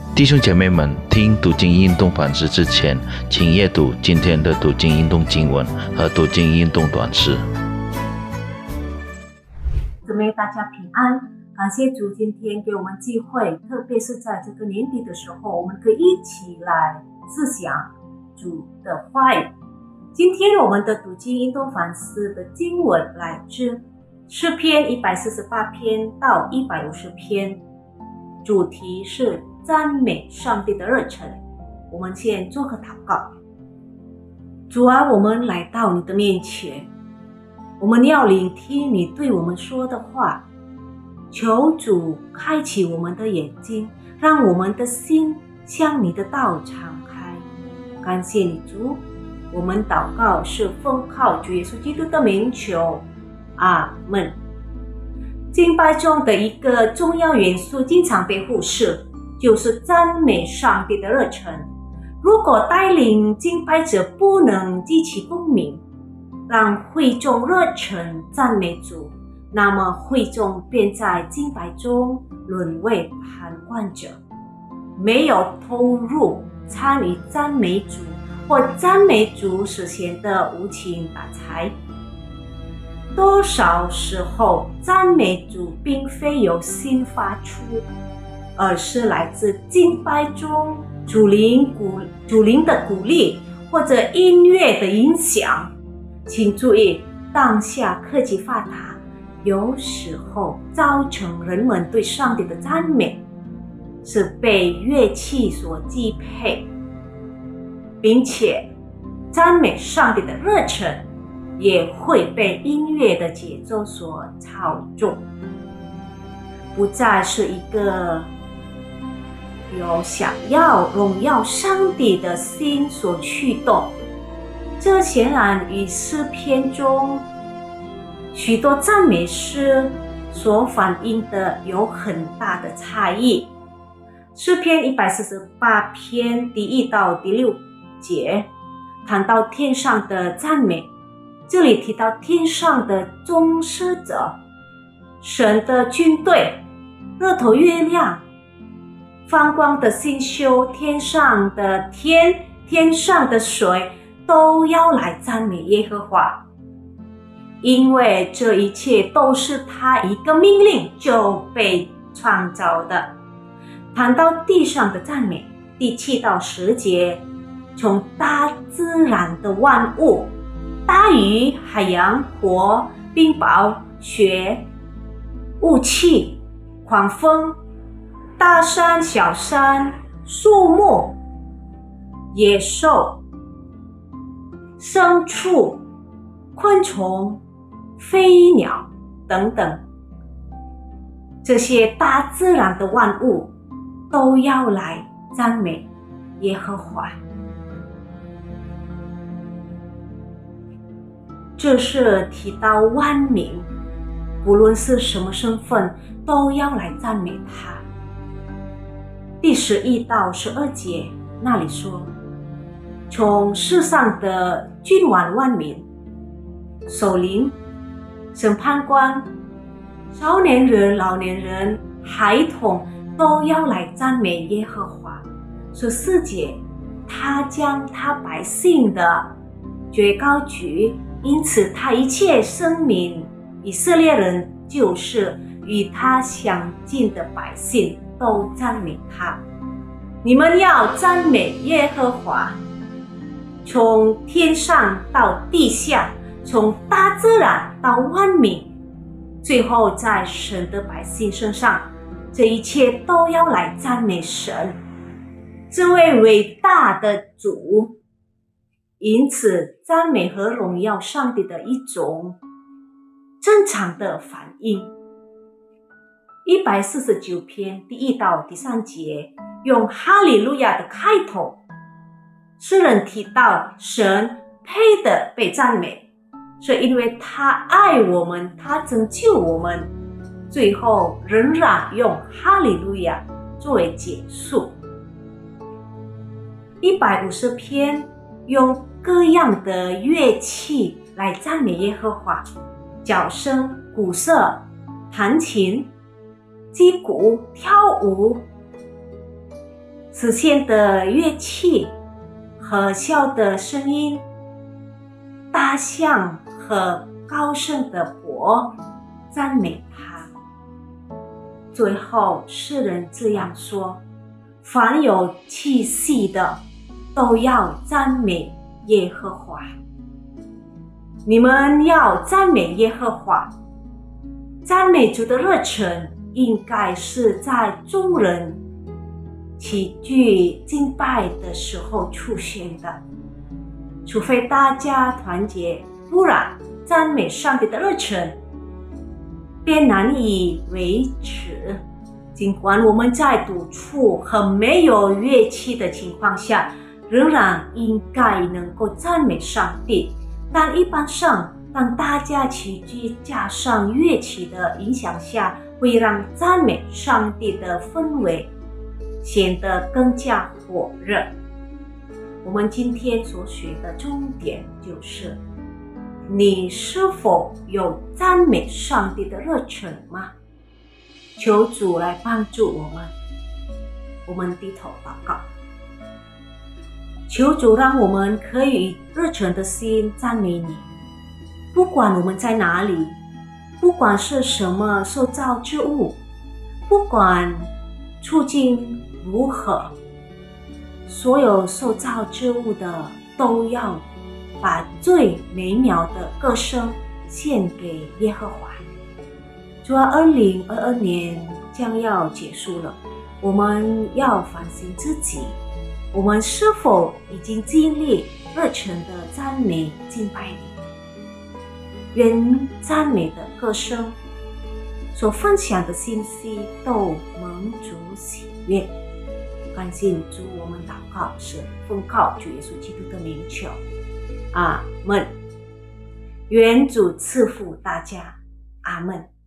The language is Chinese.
弟兄姐妹们，听读经运动反思之前，请阅读今天的读经运动经文和读经运动短诗。 姊妹大家平安，感谢主今天给我们机会，特别是在这个年底的时候，我们可以一起来思想主的话语。今天我们的读经运动反思的经文来自诗篇148篇到150篇，主题是赞美上帝的热忱。我们先做个祷告。主啊，我们来到你的面前，我们要聆听你对我们说的话，求主开启我们的眼睛，让我们的心向你的道敞开。感谢你主，我们祷告是奉靠主耶稣基督的名求，阿们。敬拜中的一个重要元素经常被忽视，就是赞美上帝的热忱。如果带领敬拜者不能激起共鸣，让会众热忱赞美主，那么会众便在敬拜中沦为旁观者，没有投入参与赞美主或赞美主实现的无情打柴。多少时候赞美主并非由心发出，而是来自敬拜中主灵的鼓励或者音乐的影响。请注意，当下科技发达，有时候造成人们对上帝的赞美是被乐器所支配，并且赞美上帝的热忱也会被音乐的节奏所操纵，不再是一个有想要荣耀上帝的心所驱动。这显然与诗篇中许多赞美诗所反映的有很大的差异。诗篇148篇第1到第6节谈到天上的赞美，这里提到天上的众使者、神的军队、日头月亮、放光的星宿、天上的天、天上的水都要来赞美耶和华，因为这一切都是他一个命令就被创造的。谈到地上的赞美，第7到10节从大自然的万物，大鱼、海洋、火、冰雹、雪、雾气、狂风、大山、小山、树木、野兽、牲畜、昆虫、飞鸟等等，这些大自然的万物都要来赞美耶和华。这是提到万民，不论是什么身份，都要来赞美他。第11到12节那里说，从世上的君王万民、首领、审判官、少年人、老年人、孩童都要来赞美耶和华。14节，他将他百姓的爵高举，因此他一切生民以色列人，就是与他相近的百姓都赞美他。你们要赞美耶和华，从天上到地下，从大自然到万民，最后在神的百姓身上，这一切都要来赞美神，这位伟大的主。因此赞美和荣耀上帝的一种正常的反应。149篇第1到第3节用哈利路亚的开头，诗人提到神配得被赞美，是因为他爱我们，他拯救我们，最后仍然用哈利路亚作为结束。150篇用各样的乐器来赞美耶和华，角声、鼓瑟、弹琴、击鼓、跳舞。 此线的乐器和笑的声音，大象和高声的钵赞美他。最后诗人这样说：凡有气息的都要赞美耶和华。你们要赞美耶和华。赞美主的热忱应该是在众人齐聚敬拜的时候出现的，除非大家团结，不然赞美上帝的热忱便难以维持。尽管我们在独处和没有乐器的情况下，仍然应该能够赞美上帝，但一般上，当大家齐聚加上乐器的影响下，会让赞美上帝的氛围显得更加火热。我们今天所学的重点就是：你是否有赞美上帝的热忱吗？求主来帮助我们。我们低头祷告，求主让我们可以以热忱的心赞美你。不管我们在哪里，不管是什么受造之物，不管处境如何，所有受造之物的都要把最美妙的歌声献给耶和华。主啊，2022年将要结束了，我们要反省自己，我们是否已经经历热忱的赞美敬拜你？愿赞美的歌声所分享的信息都蒙主喜悦。感谢主，我们祷告是奉靠主耶稣基督的名求，阿们。愿主赐福大家，阿们。